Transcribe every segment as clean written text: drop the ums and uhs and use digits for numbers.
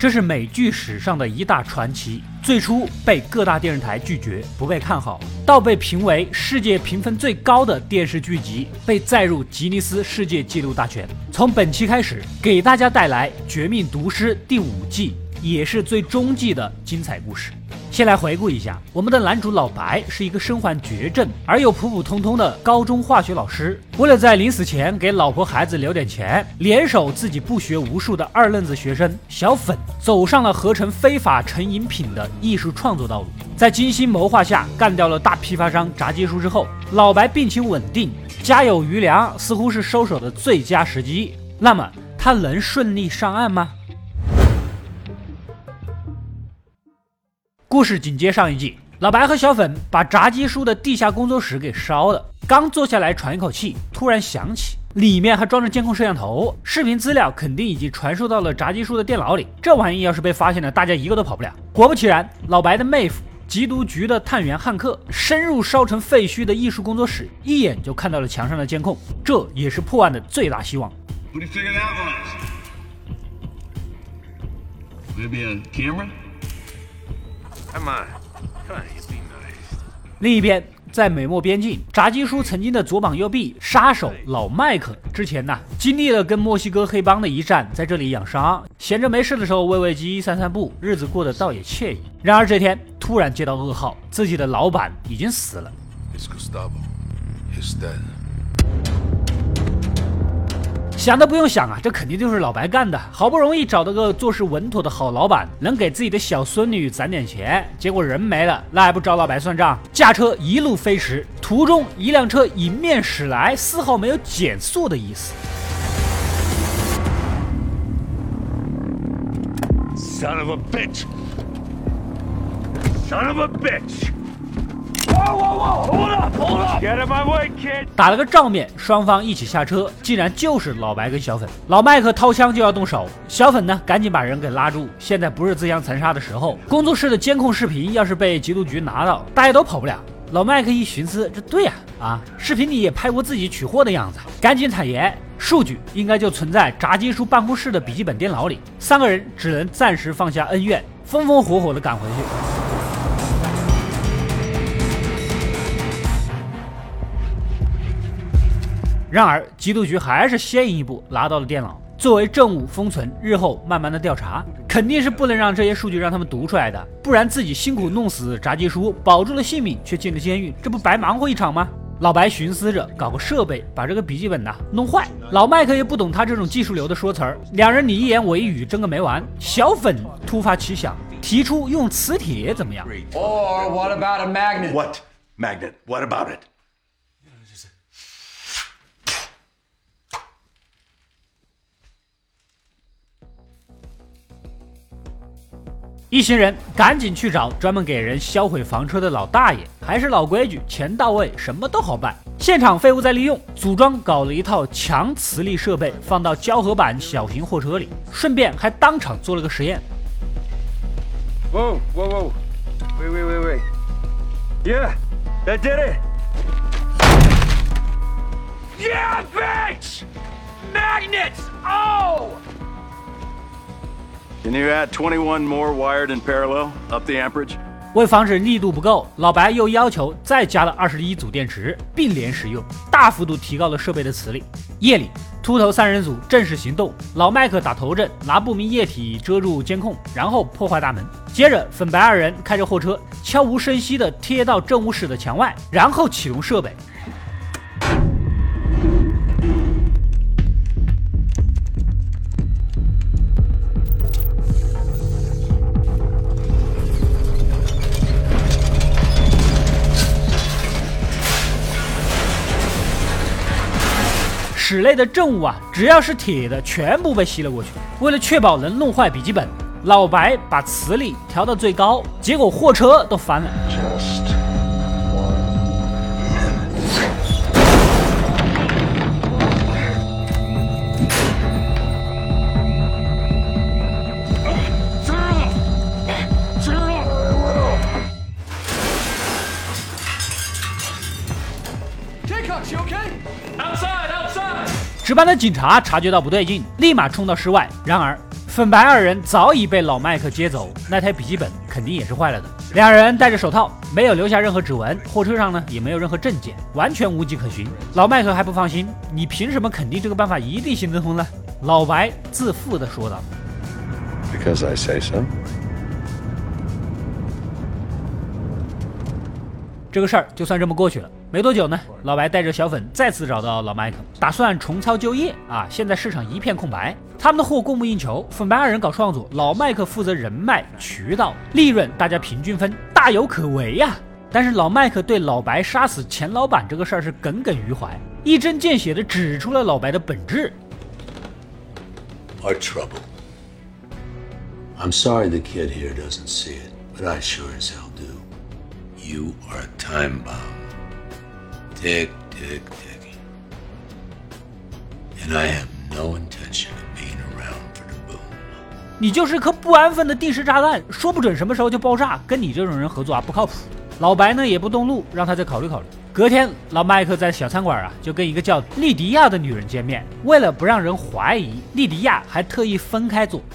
这是美剧史上的一大传奇。最初被各大电视台拒绝，不被看好，到被评为世界评分最高的电视剧集，被载入吉尼斯世界纪录大全。从本期开始，给大家带来《绝命毒师》第5季，也是最终季的精彩故事。先来回顾一下，我们的男主老白是一个身患绝症而又普普通通的高中化学老师，为了在临死前给老婆孩子留点钱，联手自己不学无术的二愣子学生小粉，走上了合成非法成瘾品的艺术创作道路。在精心谋划下干掉了大批发商炸鸡叔之后，老白病情稳定，家有余粮，似乎是收手的最佳时机。那么他能顺利上岸吗？故事紧接上一季，老白和小粉把炸鸡叔的地下工作室给烧了，刚坐下来喘一口气，突然想起里面还装着监控摄像头，视频资料肯定已经传输到了炸鸡叔的电脑里，这玩意要是被发现了，大家一个都跑不了。果不其然，老白的妹夫缉毒局的探员汉克深入烧成废墟的艺术工作室，一眼就看到了墙上的监控，这也是破案的最大希望。另一边，在美墨边境，炸鸡叔曾经的左膀右臂杀手老麦克之前呢，经历了跟墨西哥黑帮的一战，在这里养伤，闲着没事的时候喂喂鸡散散步，日子过得倒也惬意。然而这天突然接到噩耗，自己的老板已经死了。想都不用想啊，这肯定就是老白干的。好不容易找到个做事稳妥的好老板，能给自己的小孙女攒点钱，结果人没了，那还不找老白算账？驾车一路飞驰，途中一辆车迎面驶来，丝毫没有减速的意思。 Son of a bitch! Son of a bitch! Get out my way, kid! 打了个照面，双方一起下车，竟然就是老白跟小粉。老麦克掏枪就要动手，小粉呢赶紧把人给拉住。现在不是自相残杀的时候，工作室的监控视频要是被缉毒局拿到，大家都跑不了。老麦克一寻思，这对呀，视频里也拍过自己取货的样子，赶紧坦言，数据应该就存在炸鸡叔办公室的笔记本电脑里。3个人只能暂时放下恩怨，风风火火的赶回去。然而缉毒局还是先一步拿到了电脑，作为证物封存，日后慢慢的调查。肯定是不能让这些数据让他们读出来的，不然自己辛苦弄死炸鸡叔，保住了性命，却进了监狱，这不白忙活一场吗？老白寻思着搞个设备把这个笔记本弄坏，老麦克也不懂他这种技术流的说词儿，两人你一言我一语，争个没完。小粉突发奇想，提出用磁铁怎么样 ？Or what about a magnet? What magnet? What about it? 一行人赶紧去找专门给人销毁房车的老大爷，还是老规矩，钱到位，什么都好办。现场废物再利用，组装搞了一套强磁力设备，放到胶合板小型货车里，顺便还当场做了个实验。 Whoa, whoa, whoa. Wait. Yeah, that did it. Yeah, bitch! Magnets! Oh!Can you add 21 more wired in parallel up the amperage? 为防止力度不够，老白又要求再加了21组电池，并联使用，大幅度提高了设备的磁力。夜里，秃头3人组正式行动，老麦克打头阵，拿不明液体遮住监控，然后破坏大门。接着，粉白2人开着货车，悄无声息地贴到政务室的墙外，然后启动设备。室内的证物只要是铁的，全部被吸了过去。为了确保能弄坏笔记本，老白把磁力调到最高，结果货车都翻了。值班的警察察觉到不对劲，立马冲到室外。然而粉白二人早已被老麦克接走，那台笔记本肯定也是坏了的。两人戴着手套，没有留下任何指纹，货车上呢也没有任何证件，完全无迹可寻。老麦克还不放心，你凭什么肯定这个办法一定行得通呢？老白自负地说道 Because I say so. 这个事儿就算这么过去了。没多久呢，老白带着小粉再次找到老麦克，打算重操旧业啊！现在市场一片空白，他们的货供不应求，粉白二人搞创作，老麦克负责人脉渠道，利润大家平均分，大有可为呀！但是老麦克对老白杀死钱老板这个事儿是耿耿于怀，一针见血地指出了老白的本质。 Our trouble. I'm sorry the kid here doesn't see it, but I sure as hell do. You are a time bomb. Tick, tick, ticking. And I have no intention of being around for the boom. 你就是颗不安分的定时炸弹，说不准什么时候就爆炸，跟你这种人合作啊不靠谱。老白呢也不动怒，让他再考虑考虑。隔天，老麦克在小餐馆就跟一个叫莉迪亚的女人见面，为了不让人怀疑，莉迪亚还特意分开坐。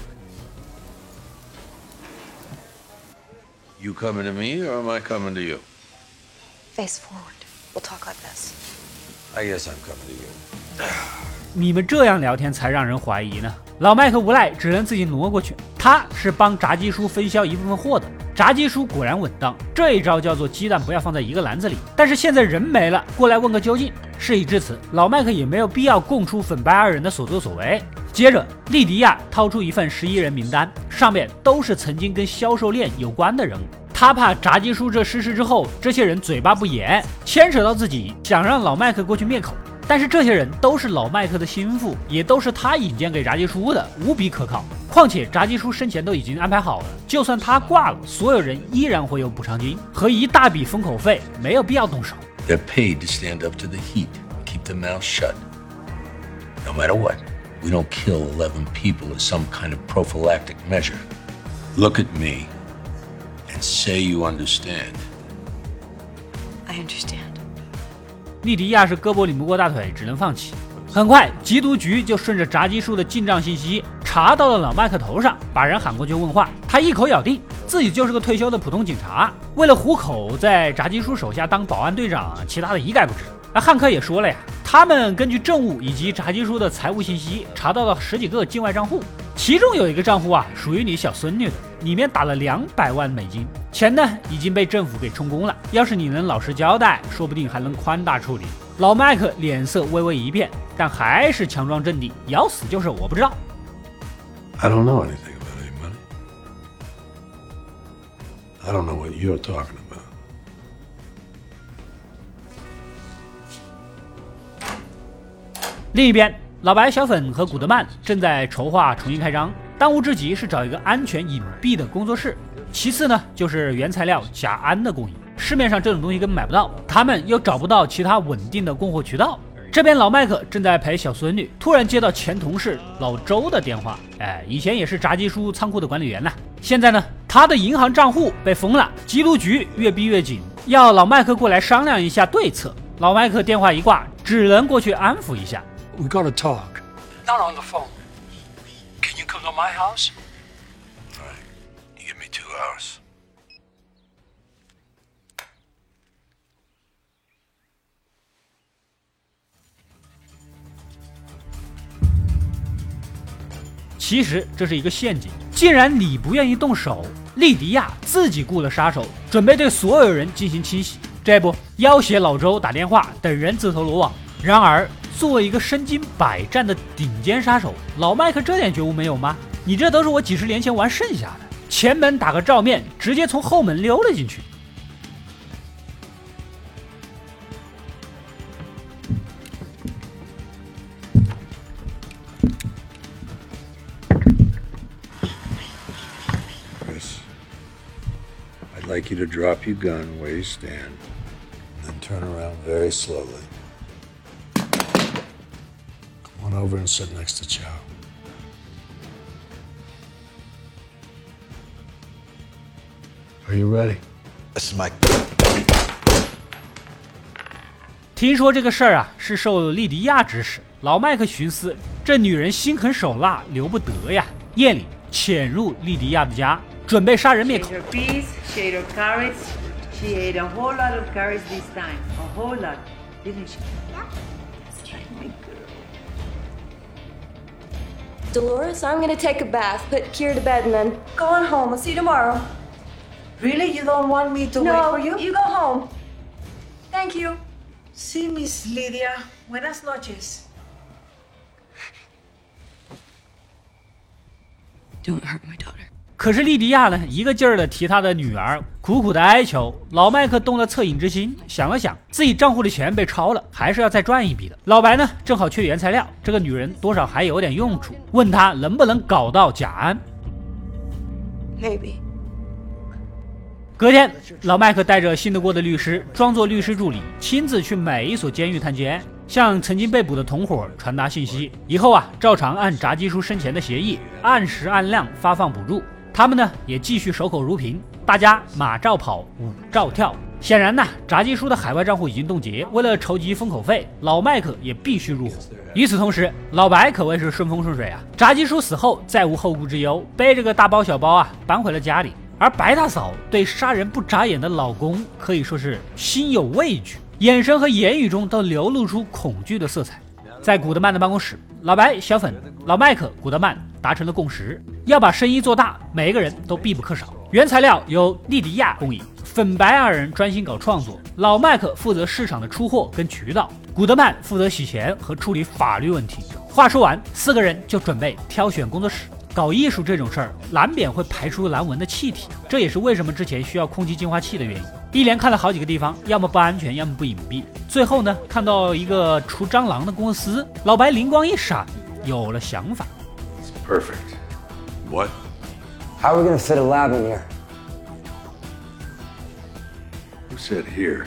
You coming to me or am I coming to you? Face forward. We'll talk like this. I guess I'm coming to you. 你们这样聊天才让人怀疑呢。老麦克无奈，只能自己挪过去。他是帮炸鸡叔分销一部分货的。炸鸡叔果然稳当，这一招叫做鸡蛋不要放在一个篮子里。但是现在人没了，过来问个究竟。事已至此，老麦克也没有必要供出粉白二人的所作所为。接着，莉迪亚掏出一份11人名单，上面都是曾经跟销售链有关的人物。他怕炸鸡叔这失事之后，这些人嘴巴不严，牵扯到自己，想让老麦克过去灭口。但是这些人都是老麦克的心腹，也都是他引荐给炸鸡叔的，无比可靠。况且炸鸡叔生前都已经安排好了，就算他挂了，所有人依然会有补偿金和一大笔封口费，没有必要动手。 They're paid to stand up to the heat, keep their mouths shut. No matter what, we don't kill 11 people as some kind of prophylactic measure. Look at me and say you understand. I understand. 莉迪亚是胳膊拧不过大腿，只能放弃。很快，缉毒局就顺着炸鸡叔的进账信息查到了老麦克头上，把人喊过去问话。他一口咬定自己就是个退休的普通警察，为了糊口，在炸鸡叔手下当保安队长，其他的一概不知。而汉克也说了呀，他们根据证物以及炸鸡叔的财务信息，查到了10几个境外账户，其中有一个账户属于你小孙女的，里面打了200万美金，钱呢已经被政府给充公了。要是你能老实交代，说不定还能宽大处理。老麦克脸色微微一变，但还是强装镇定，咬死就是我不知道。 I don't know anything about any money. I don't know what you're talking about. 另一边，老白、小粉和古德曼正在筹划重新开张，当务之急是找一个安全隐蔽的工作室，其次呢就是原材料甲胺的供应。市面上这种东西根本买不到，他们又找不到其他稳定的供货渠道。这边老麦克正在陪小孙女，突然接到前同事老周的电话。以前也是炸鸡叔仓库的管理员呢，现在呢他的银行账户被封了，缉毒局越逼越紧，要老麦克过来商量一下对策。老麦克电话一挂，只能过去安抚一下。 We gotta talk. Not on the phone. Can you come to my house? All right. You give me 2 hours. 其实这是一个陷阱，既然你不愿意动手，莉迪亚自己雇了杀手，准备对所有人进行清洗。这不，要挟老周打电话，等人自投罗网。然而，作为一个身经百战的顶尖杀手，老麦克这点觉悟没有吗？你这都是我几10年前玩剩下的，前门打个照面，直接从后门溜了进去。 I'd like you to drop your gun where you stand, then turn around very slowly. Come on over and sit next to Chow. Are you ready? This is my... 听说这个事儿是受莉迪亚指使，老麦克寻思，这女人心狠手辣，留不得呀。 夜里潜入莉迪亚的家，准备杀人灭口。 Shade her peace, shade her courage. She ate a whole lot of courage this time. A whole lot, didn't she? Dolores, I'm gonna take a bath, put Kier to bed, and then go on home. I'll see you tomorrow. Really? You don't want me to wait No, for you? you go home. Thank you. Sí, Miss Lydia. Buenas noches. Don't hurt my daughter. 可是莉迪亚呢，一个劲儿的提她的女儿，苦苦的哀求。老麦克动了恻隐之心，想了想，自己账户的钱被抄了，还是要再赚一笔的。老白呢，正好缺原材料，这个女人多少还有点用处，问他能不能搞到甲胺。 Maybe. 隔天，老麦克带着信得过的律师，装作律师助理，亲自去每一所监狱探监，向曾经被捕的同伙传达信息。以后啊，照常按炸鸡叔生前的协议，按时按量发放补助。他们呢，也继续守口如瓶，大家马照跑，舞照跳。显然呢，炸鸡叔的海外账户已经冻结，为了筹集封口费，老麦克也必须入伙。与此同时，老白可谓是顺风顺水啊！炸鸡叔死后再无后顾之忧，背着个大包小包啊，搬回了家里。而白大嫂对杀人不眨眼的老公可以说是心有畏惧，眼神和言语中都流露出恐惧的色彩。在古德曼的办公室，老白、小粉、老麦克、古德曼达成了共识，要把生意做大，每一个人都必不可少。原材料由莉迪亚供应，粉白二人专心搞创作，老麦克负责市场的出货跟渠道，古德曼负责洗钱和处理法律问题。话说完，四个人就准备挑选工作室。搞艺术这种事儿，难免会排出难闻的气体，这也是为什么之前需要空气净化器的原因。一连看了好几个地方，要么不安全，要么不隐蔽。最后呢，看到一个除蟑螂的公司，老白灵光一闪，有了想法。 Perfect. What? How are we gonna fit a lab in here? Who said here?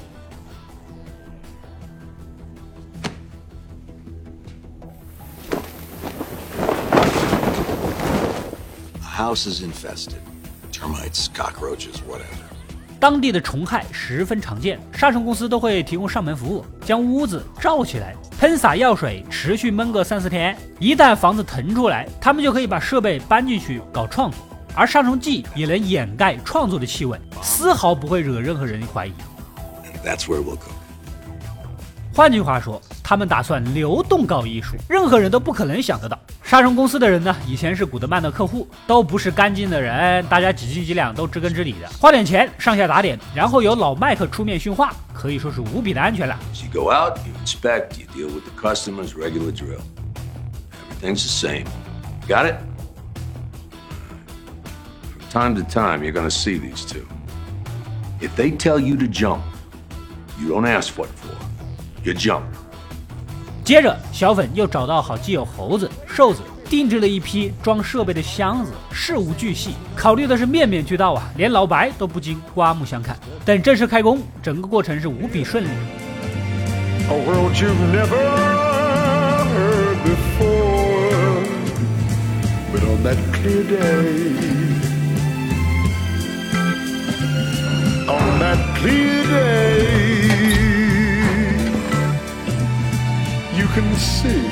The house is infested. Termites, cockroaches, whatever. 当地的虫害十分常见，杀虫公司都会提供上门服务，将屋子罩起来，喷洒药水，持续闷个3-4天。一旦房子腾出来，他们就可以把设备搬进去搞创作，而杀虫剂也能掩盖创作的气味，丝毫不会惹任何人怀疑。 That's where we'll go. 换句话说，他们打算流动搞艺术，任何人都不可能想得到。杀虫公司的人呢，以前是古德曼的客户，都不是干净的人，大家几斤几两都知根知底的，花点钱上下打点，然后由老麦克出面训话，可以说是无比的安全了。 You go out, you inspect, you deal with the customers, regular drill. Everything's the same. Got it? From time to time, you're gonna see these two. If they tell you to jump, you don't ask what for. You jump. 接着，小粉又找到好基友猴子、瘦子，定制了一批装设备的箱子，事无巨细，考虑的是面面俱到啊，连老白都不禁刮目相看。等正式开工，整个过程是无比顺利。 A world you've never heard before, but on that clear day, on that clear day.You can see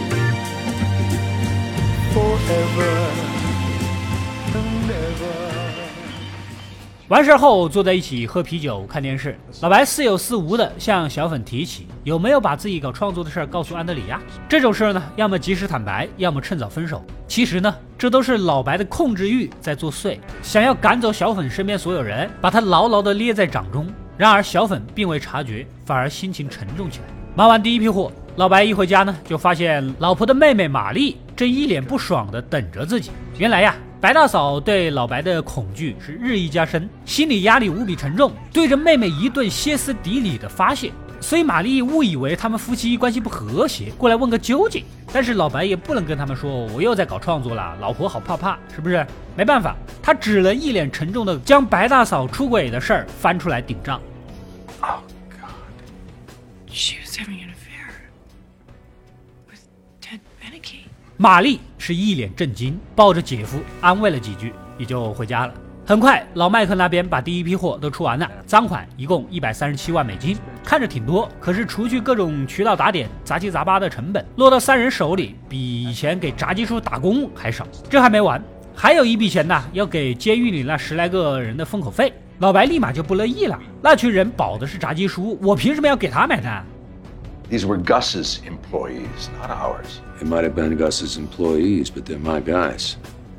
forever and ever. 完事后坐在一起喝啤酒看电视，老白似有似无的向小粉提起有没有把自己搞创作的事告诉安德里亚。这种事呢，要么及时坦白，要么趁早分手。其实呢，这都是老白的控制欲在作祟，想要赶走小粉身边所有人，把他牢牢的捏在掌中。然而小粉并未察觉，反而心情沉重起来。忙完第一批货，老白一回家呢，就发现老婆的妹妹玛丽正一脸不爽的等着自己。原来呀，白大嫂对老白的恐惧是日益加深，心理压力无比沉重，对着妹妹一顿歇斯底里的发泄。所以玛丽误以为他们夫妻关系不和谐，过来问个究竟。但是老白也不能跟他们说我又在搞创作了，老婆好怕，是不是？没办法，他只能一脸沉重的将白大嫂出轨的事儿翻出来顶账。 Oh, God. She was having an affair with Ted Beneke. 玛丽是一脸震惊，抱着姐夫安慰了几句，也就回家了。很快，老麦克那边把第一批货都出完了，赃款一共137万美金。 看着挺多，可是除去各种渠道打点、杂七杂八的成本，落到3人手里比以前给炸鸡叔打工还少。这还没完，还有一笔钱呢，要给监狱里那10来个人的封口费。老白立马就不乐意了，那群人保的是炸鸡叔，我凭什么要给他买单？ These were Gus's employees, not ours. They might have been Gus's employees, but they're my guys.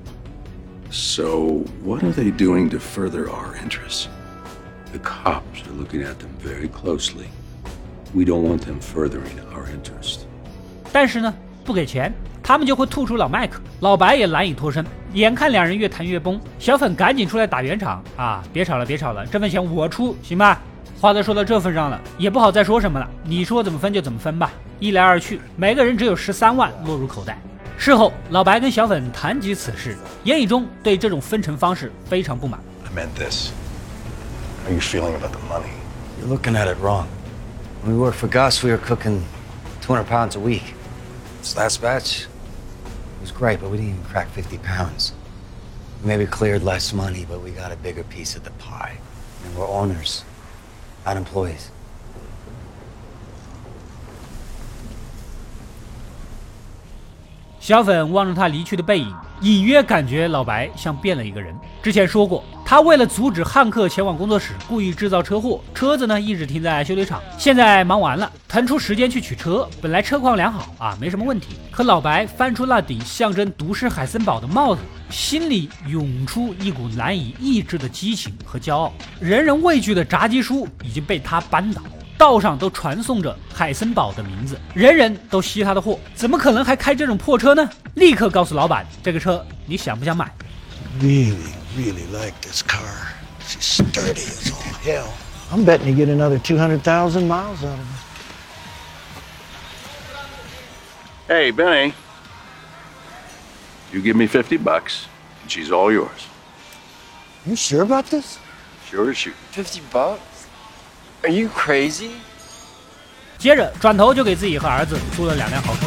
So, what are they doing to further our interests? The cops are looking at them very closely. We don't want them furthering our interest. 但是呢，不给钱，他们就会吐出老麦克。老白也难以脱身，眼看2人越谈越崩，小粉赶紧出来打圆场啊！别吵了，别吵了，这份钱我出，行吧？话都说到这份上了，也不好再说什么了。你说怎么分就怎么分吧。一来二去，每个人只有13万落入口袋。事后，老白跟小粉谈及此事，言语中对这种分成方式非常不满。 I meant this. How are you feeling about the money? You're looking at it wrong. When we worked for Gus, we were cooking 200 pounds a week. This last batch was great, but we didn't even crack 50 pounds. We maybe cleared less money, but we got a bigger piece of the pie. And we're owners, not employees. 小粉望着他离去的背影，隐约感觉老白像变了一个人。之前说过，他为了阻止汉克前往工作室，故意制造车祸，车子呢一直停在修理厂。现在忙完了，腾出时间去取车，本来车况良好啊，没什么问题。可老白翻出那顶象征毒师海森堡的帽子，心里涌出一股难以抑制的激情和骄傲。人人畏惧的炸鸡叔已经被他扳倒。道上都传颂着海森堡的名字，人人都吸他的货，怎么可能还开这种破车呢？立刻告诉老板，这个车你想不想买 Really like this car. She's sturdy as all hell. I'm betting you get another 200,000 miles out of it. Hey, Benny. You give me $50, and she's all yours. You sure about this? Sure as shoot. $50? Are you crazy? 接着转头就给自己和儿子租了2辆豪车。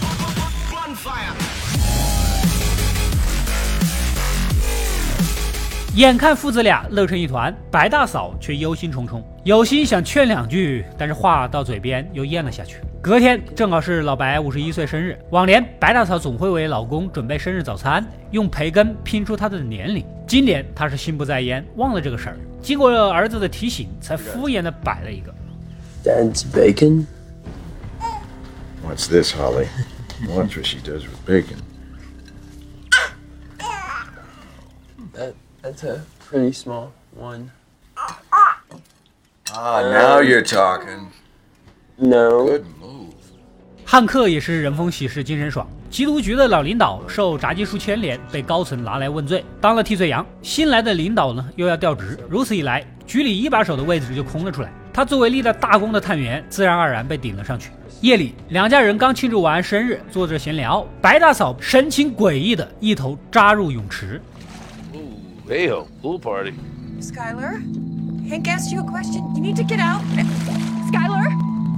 眼看父子俩乐成一团，白大嫂却忧心忡忡，有心想劝2句，但是话到嘴边又咽了下去。隔天正好是老白51岁生日，往年白大嫂总会为老公准备生日早餐，用培根拼出他的年龄。今年他是心不在焉，忘了这个事儿，经过儿子的提醒，才敷衍的摆了一个。 Dad's bacon? What's this, Holly? Watch what she does with bacon. That's a pretty small one. Now you're talking. No. Good move. 汉克也是人逢喜事精神爽，缉毒局的老领导受炸鸡叔牵连，被高层拿来问罪，当了替罪羊。新来的领导呢又要调职，如此一来，局里一把手的位置就空了出来。他作为立了大功的探员，自然而然被顶了上去。夜里，两家人刚庆祝完生日，坐着闲聊，白大嫂神情诡异的一头扎入泳池。 Hey-ho, pool party. Skylar, Hank asked you a question. You need to get out. Skylar?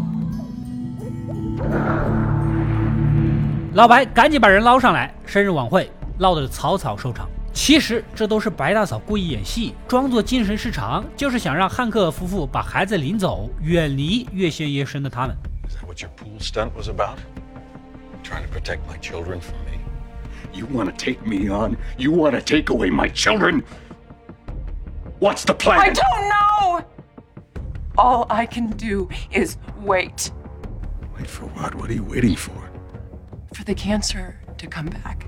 老白赶紧把人捞上来，生日晚会闹得草草收场。其实这都是白大嫂故意演戏，装作精神失常，就是想让汉克夫妇把孩子领走，远离越陷越深的他们。 Is that what your pool stunt was about? Trying to protect my children from me? You want to take me on? You want to take away my children? What's the plan? I don't know! All I can do is wait. Wait for what? What are you waiting for? For the cancer to come back.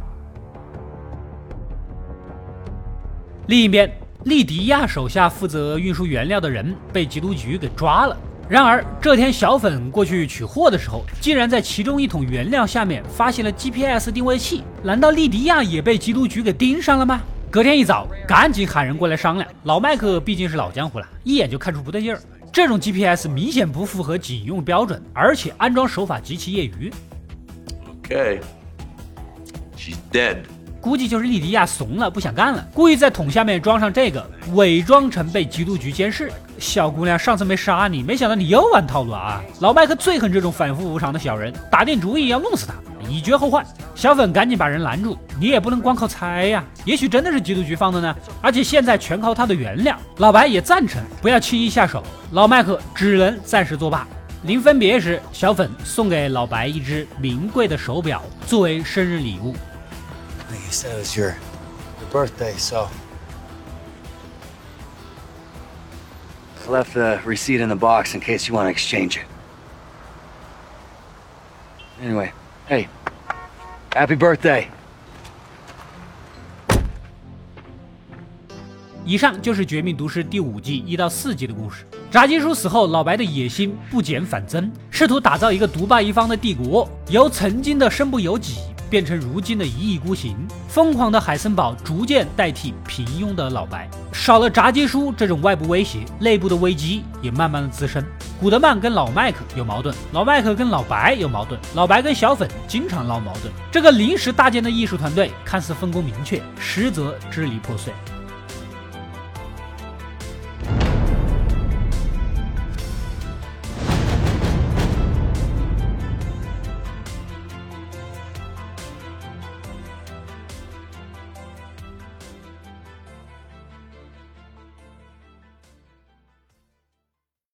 另一边，利迪亚手下负责运输原料的人被缉毒局给抓了。然而这天小粉过去取货的时候，竟然在其中一桶原料下面发现了 GPS 定位器。难道利迪亚也被缉毒局给盯上了吗？隔天一早，赶紧喊人过来商量。老麦克毕竟是老江湖了，一眼就看出不对劲儿。这种 GPS 明显不符合警用标准，而且安装手法极其业余。 Okay. She's dead. 估计就是利迪亚怂了，不想干了，故意在桶下面装上这个，伪装成被缉毒局监视。小姑娘，上次没杀你，没想到你又玩套路啊！老麦克最恨这种反复无常的小人，打定主意要弄死他。 以绝后患。小粉赶紧把人拦住，你也不能光靠猜呀，也许真的是缉毒局放的呢，而且现在全靠他的原谅。老白也赞成不要轻易下手，老麦克只能暂时作罢。临分别时，小粉送给老白一只名贵的手表作为生日礼物。 Like you said, it was your birthday, so I left the receipt in the box in case you want to exchange it. Anyway, hey, happy birthday. 以上就是《绝命毒师》第5季1到4集的故事。炸鸡叔死后，老白的野心不减反增，试图打造一个独霸一方的帝国，由曾经的身不由己变成如今的一意孤行。疯狂的海森堡逐渐代替平庸的老白，少了炸鸡叔这种外部威胁，内部的危机也慢慢的滋生。古德曼跟老麦克有矛盾，老麦克跟老白有矛盾，老白跟小粉经常闹矛盾。这个临时搭建的艺术团队看似分工明确，实则支离破碎。